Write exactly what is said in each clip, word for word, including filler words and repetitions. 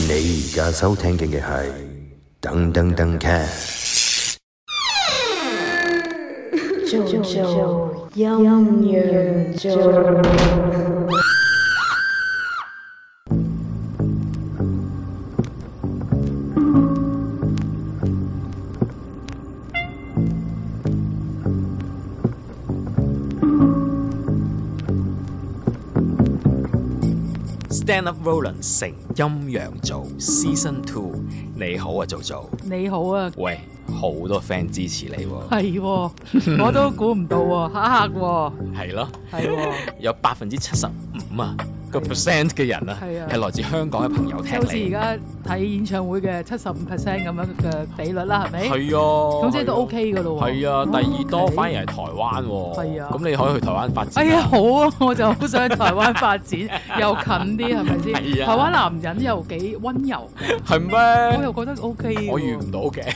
你而家收聽嘅係噔噔噔 cast， 做做陰陽做。 Stand Up Roland 成陰陽做 Season Two， 你好啊，做做。 你好啊， 喂，好多 friend 支持你喎。 係喎，我都估唔到喎，嚇嚇喎。 係咯， 係喎， 有百分之七十五啊個 percent 嘅人啊， 係啊係來自香港嘅朋友聽即係好似而你。 家睇演唱會嘅七十五 percent 咁樣嘅比率啦，係咪？ 係啊， 咁即係都 OK 噶咯喎。 係啊， 哦第二多 OK 反而係台灣喎。 係啊咁你可以去台灣發展。 哎呀，好啊，我就好想去台灣發展，又近啲，係咪先？ 係啊台灣男人又幾温柔， 係咩？ 我又覺得 OK 喎。 我遇唔到嘅。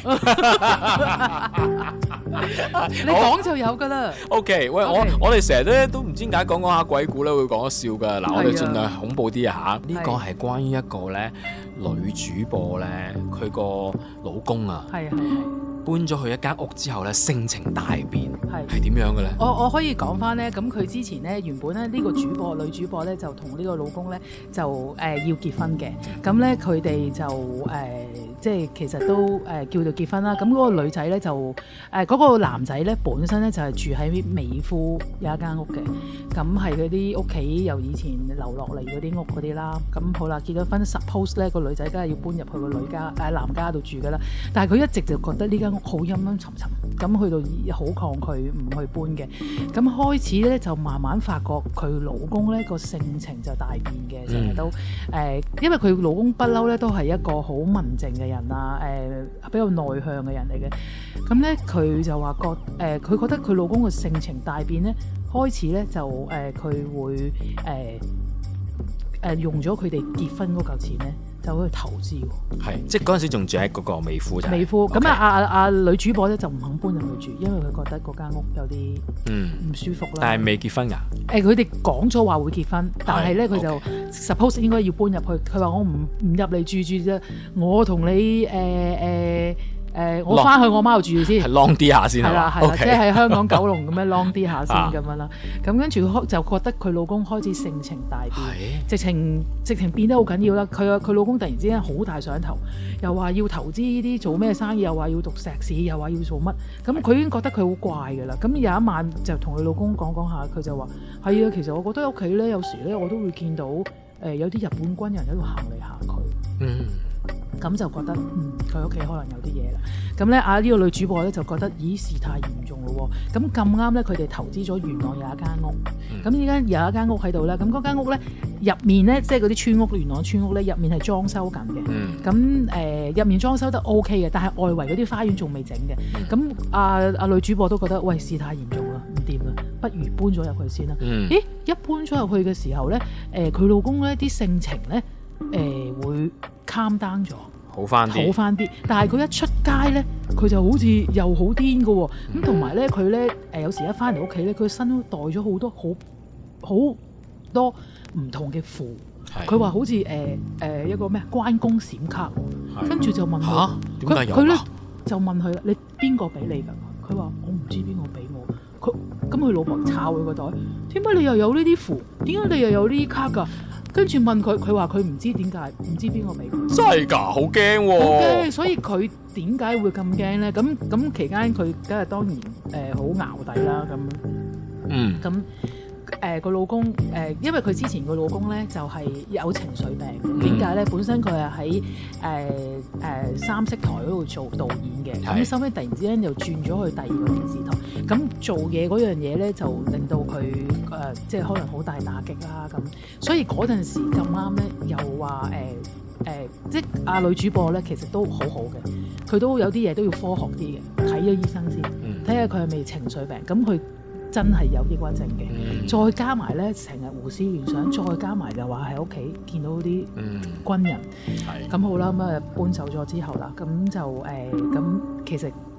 你講就有㗎啦。 OK， 喂， OK 我我哋成日咧都唔知點解講講下鬼故咧會講得笑㗎。嗱，我哋係啊盡量恐怖啲啊嚇。呢個係係關於一個咧女主播咧，佢個老公啊係啊係啊。 搬咗去一間屋之後咧，性情大變， 係係點樣嘅咧？ 我我可以講翻咧，咁佢之前咧原本咧呢、呢個主播女主播咧就同呢個老公咧就誒、呃、要結婚嘅，咁咧佢哋就誒、呃、即係其實都誒、呃、叫做結婚啦。咁嗰個女仔咧就誒嗰、呃嗰個男仔咧本身咧就係、是、住喺美孚有一間屋嘅，咁係嗰啲屋企由以前留落嚟嗰啲屋嗰啲啦。咁好啦，結咗婚 suppose 咧個女仔梗係要搬入去個女家誒、呃、男家度住㗎啦。但係佢一直就覺得呢間屋好陰陰沉沉，咁去到好抗拒唔去搬嘅。咁開始咧就慢慢發覺佢老公咧個性情就大變嘅，成日都誒、呃，因為佢老公不嬲咧都係一個好文靜嘅人啊，誒、呃、比較內向嘅人嚟嘅。咁咧佢就話覺誒，佢、呃、覺得佢老公嘅性情大變咧，開始咧就誒佢、呃、會誒誒、呃呃、用咗佢哋結婚嗰嚿錢咧。就去投資喎， 係即係嗰陣時仲住喺嗰個美孚就係。 美孚咁 OK 啊！阿阿女主播咧就唔肯搬入去住，因為佢覺得嗰間屋有啲嗯唔舒服啦。 但係未結婚㗎。 誒，佢哋講咗話會結婚，但係咧佢就 OK suppose 應該要搬入去。佢話我唔唔入嚟住住啫，我同你誒誒。呃呃誒，我翻去我媽度住先， 係 long 啲下先係啦係啦， OK 即係喺香港九龍咁樣 long 啲下先啊咁樣啦。咁跟住佢就覺得佢老公開始性情大變， 係直情直情變得好緊要啦。佢佢老公突然之間好大上頭，又話要投資呢啲做咩生意，又話要讀碩士，又話要做乜。咁佢已經覺得佢好怪㗎啦。咁有一晚就同佢老公講講下，佢就話係啊，其實我覺得屋企咧有時咧我都會見到誒、呃、有啲日本軍人喺度行嚟行去。 嗯。 咁就覺得嗯佢屋企可能有啲嘢啦，咁咧啊呢、呢個女主播咧就覺得咦事態嚴重咯喎，咁咁啱咧佢哋投資咗元朗有一間屋，咁依家有一間屋喺度咧，咁嗰間屋咧入面咧即係嗰啲村屋元朗村屋咧入面係裝修緊嘅，咁誒入面裝修得 O K 嘅，但係外圍嗰啲花園仲未整嘅，咁啊啊女主播都覺得喂事態嚴重啦，唔掂啦，不如搬咗入去先啦， 嗯、 咦一搬咗入去嘅時候咧，誒、呃、佢老公咧啲性情咧誒、呃、會 calm down 咗。 好翻啲， 好翻啲，但係佢一出街咧，佢就好似又好癲嘅喎。咁同埋咧，佢咧誒有時一翻嚟屋企咧，佢身都帶咗好多好好多唔同嘅符。佢話好似誒誒一個咩關公閃卡，跟住就問佢點解有佢咧就問佢啦，你邊個俾你㗎？佢話我唔知邊個俾我。佢咁佢老婆抄佢個袋，點解你又有呢啲符？點解你又有呢啲卡㗎？跟住問佢，佢話佢唔知點解，唔知邊個俾佢。 真係㗎，好驚喎！ 好驚，所以佢點解會咁驚咧？咁咁期間佢梗係當然誒好淆底啦。咁嗯， 咁誒個老公誒、呃，因為佢之前個老公咧就係、是、有情緒病。點解咧？本身佢係喺誒誒三色台嗰度做導演嘅，咁收尾突然之間又轉咗去第二個電視台。咁做嘢嗰樣嘢咧，就令到佢誒、呃、即係可能好大打擊啦。咁所以嗰陣時咁啱咧，又話誒誒，即係阿女主播咧，其實都好好嘅。佢都有啲嘢都要科學啲嘅，睇咗醫生先，睇下佢係咪情緒病。咁佢真係有抑鬱症嘅，嗯、再加埋咧成日胡思亂想，再加埋就話喺屋企見到啲軍人，咁、嗯、好啦，咁啊搬走咗之後啦，咁就誒咁、呃、其實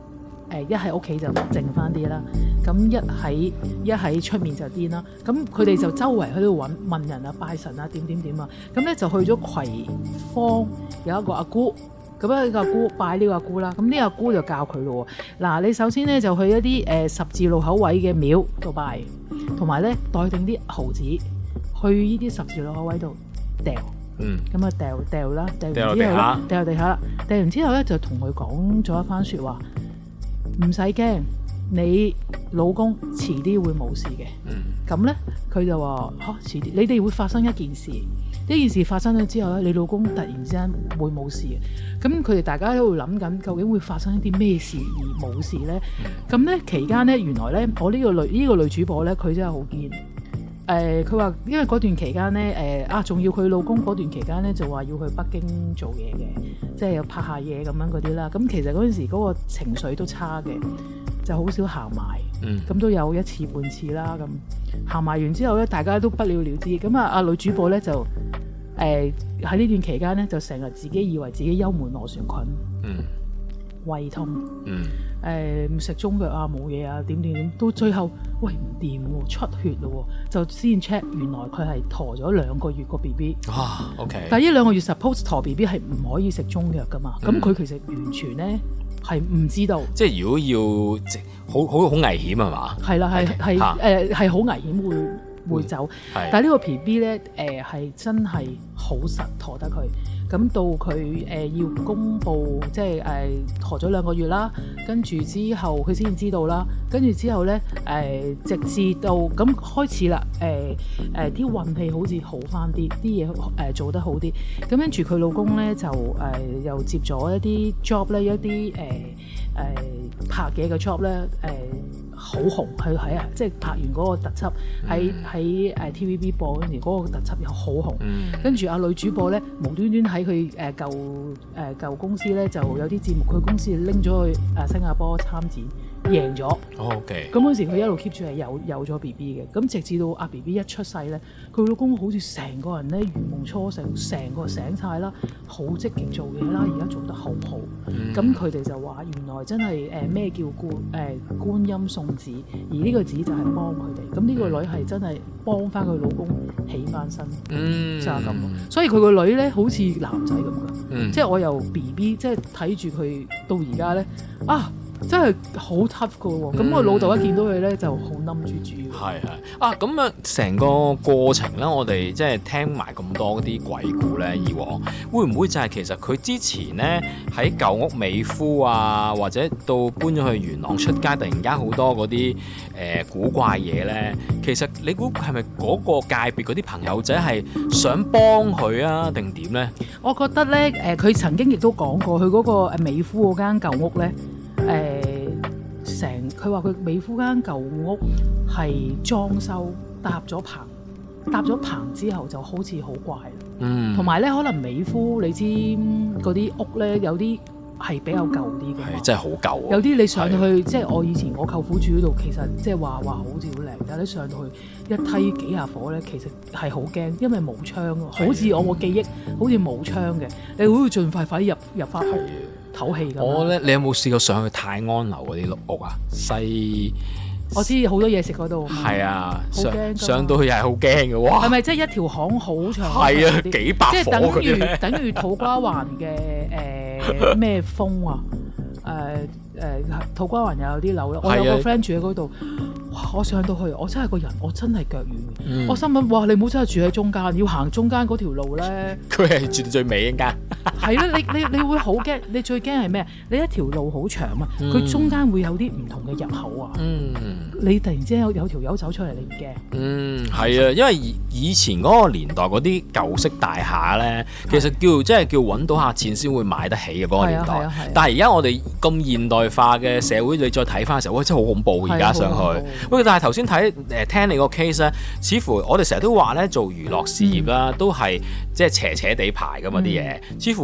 誒一喺屋企就靜翻啲啦，咁一喺一喺出面就癲啦。咁佢哋就周圍喺度揾問人啊、拜神啊、點點點啊。咁咧就去咗葵芳有一個阿姑。咁咧呢個阿姑拜呢個阿姑啦，咁呢個阿姑就教佢咯喎。嗱，你首先咧就去一啲誒、呃、十字路口位嘅廟度拜，同埋咧帶定啲毫子去呢啲十字路口位度掉。嗯。咁啊掉掉啦，掉完之後咧掉落地下啦，掉完之後咧就同佢講咗一番説話，唔使驚，你老公遲啲會冇事嘅。嗯。咁咧佢就話嚇、啊、遲啲，你哋會發生一件事。呢件事發生咗之後咧，你老公突然之間會冇事嘅。咁佢哋大家喺度諗緊，究竟會發生一啲咩事而冇事咧？咁咧期間咧，原來咧，我呢個女呢、呢個女主播咧，佢真係好堅。誒、呃，佢話因為嗰段期間咧，誒、呃、啊，仲要佢老公嗰段期間咧，就話要去北京做嘢嘅，即係有拍下嘢咁樣嗰啲啦。咁其實嗰陣時嗰個情緒都差嘅，就好少行埋。咁、嗯、都有一次半次啦。咁行埋完之後咧，大家都不了了之。咁啊，阿女主播咧就誒喺呢段期間咧，就成日自己以為自己幽門螺旋菌、嗯、胃痛、嗯誒食、呃、中藥啊，冇嘢啊，點點點，到最後喂唔掂喎，出血咯喎，就先 check 原來佢係陀咗兩個月個 B B。 啊 OK。 但係呢兩個月 suppose 陀 B B 係唔可以食中藥噶嘛？咁、嗯、佢其實完全咧係唔知道。即係如果要好好好危險係嘛？係啦， 係係誒係好危險會。會走，但係呢個 B B 咧，誒、呃、係真係好實陀得佢。咁到佢誒、呃、要公佈，即係誒陀咗兩個月啦，跟住之後佢先知道啦，跟住之後咧誒、呃、直至到咁開始啦，誒誒啲運氣好似好翻啲，啲嘢誒做得好啲。咁跟住佢老公咧就誒、呃、又接咗一啲 job 咧，一啲誒誒拍嘢嘅 job 咧，誒、呃。好紅，佢喺啊，即係拍完嗰個特輯喺喺誒 T V B 播嗰陣時，嗰個特輯又好紅。跟住阿女主播咧，無端端喺佢誒舊誒舊公司咧，就有啲節目，佢公司拎咗去誒新加坡參展，贏咗。 OK。咁嗰時佢一路 keep 住係有有咗 B B 嘅，咁直至到阿 B B 一出世咧，佢老公好似成個人咧如夢初醒，成個醒晒啦，好積極做嘢啦，而家做得好好。咁佢哋就話原來真係誒咩叫觀誒、呃、觀音送子，而呢個子就係幫佢哋。咁呢個女係真係幫翻佢老公起翻身，嗯、就係咁。所以佢個女咧好似男仔咁噶，嗯、即係我由 B B 即係睇住佢到而家咧啊！真係好 tough 噶喎，咁我老豆一見到佢咧就好冧住住。 係係啊，咁啊成個過程咧，我哋即係聽埋咁多啲鬼故咧，以往會唔會就係其實佢之前咧喺舊屋美孚啊，或者到搬咗去元朗出街，突然間好多嗰啲誒古怪嘢咧？其實你估係咪嗰個界別嗰啲朋友仔係想幫佢啊，定點咧？ 我覺得咧，誒、呃、佢曾經亦都講過，佢嗰個誒美孚嗰間舊屋咧。誒成佢話佢美孚間舊屋係裝修搭咗棚，搭咗棚之後就好似好怪。嗯，同埋咧可能美孚你知嗰啲屋咧有啲係比較舊啲嘅， 係真係好舊、啊。有啲你上去的即係我以前我舅父住嗰度，其實即係話話好似好靚，但係你上到去一梯幾下火咧，其實係好驚，因為冇窗啊，好似我個記憶好似冇窗嘅，你會盡快快啲入入翻去。唞氣咁。 我咧，你有冇試過上去泰安樓嗰啲屋啊？西， 我知好多嘢食嗰度。係啊，上上到去又係好驚嘅喎。 係咪即係一條巷好長？ 係啊，幾百即係等於等於土瓜灣嘅誒咩風啊？誒、呃、誒、呃、土瓜灣又有啲樓啦。我有個 friend 住喺嗰度。哇！我上到去，我真係個人，我真係腳軟。嗯、我心諗，哇！你唔好真係住喺中間，要行中間嗰條路咧。 佢係住到最尾一間。 係啦，你你你會好驚，你最驚係咩？你一條路好長啊，佢、嗯、中間會有啲唔同嘅入口啊。嗯，你突然之間有有條友走出嚟，你唔驚？嗯， 係啊，因為以前嗰個年代嗰啲舊式大廈咧，其實叫即係叫揾到下錢先會買得起嘅嗰個年代。啊啊啊、但係而家我哋咁現代化嘅社會，你再睇翻嘅時候，哇！真係好恐怖而家上去。喂，但係頭先睇誒聽你個 case 咧，似乎我哋成日都話咧做娛樂事業啦，嗯、都係即係斜斜地排噶嘛啲嘢，似乎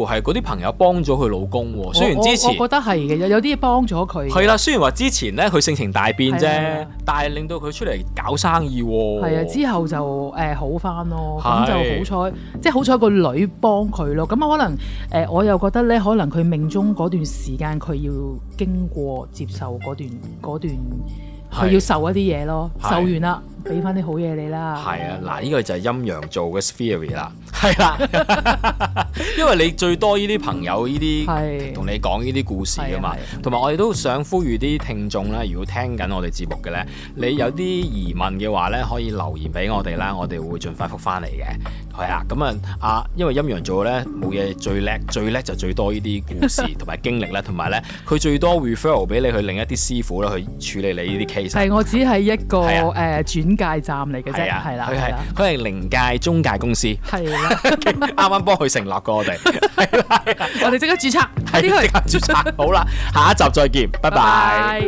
係嗰啲朋友幫咗佢老公喎。雖然之前我，我覺得係嘅，有有啲嘢幫咗佢。 係啦，雖然話之前咧佢性情大變啫， 係但係令到佢出嚟搞生意喎。 係啊，之後就誒、呃、好翻咯，咁就好彩，即係好彩個女幫佢咯。咁可能誒、呃、我又覺得咧，可能佢命中嗰段時間佢要經過接受嗰段嗰段，佢要受一啲嘢咯，受完啦，俾翻啲好嘢你啦。 係啊，嗱，呢個就係陰陽做嘅 theory 啦，係啦，因為你最多呢啲朋友呢啲同你講呢啲故事噶嘛，同埋我哋都想呼籲啲聽眾咧，如果聽緊我哋節目嘅咧，你有啲疑問嘅話咧，可以留言俾我哋啦，我哋會盡快覆翻嚟嘅。係啊，咁啊啊，因為陰陽做咧冇嘢最叻，最叻就最多呢啲故事同埋經歷咧，同埋咧佢最多 referral 俾你去另一啲師傅咧去處理你呢啲 case。 係，我只係一個誒、 啊呃、轉介站嚟嘅啫，係啦， 佢係佢係靈界中介公司， 係啦， 啱啱幫佢成立過我哋，係啦， 我哋即刻註冊， 係即刻註冊，好啦，下一集再見，拜拜。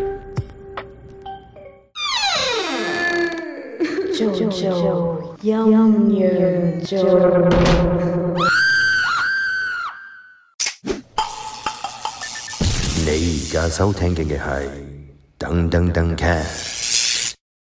做做陰陽做。 你而家收聽嘅係噔噔噔 cast。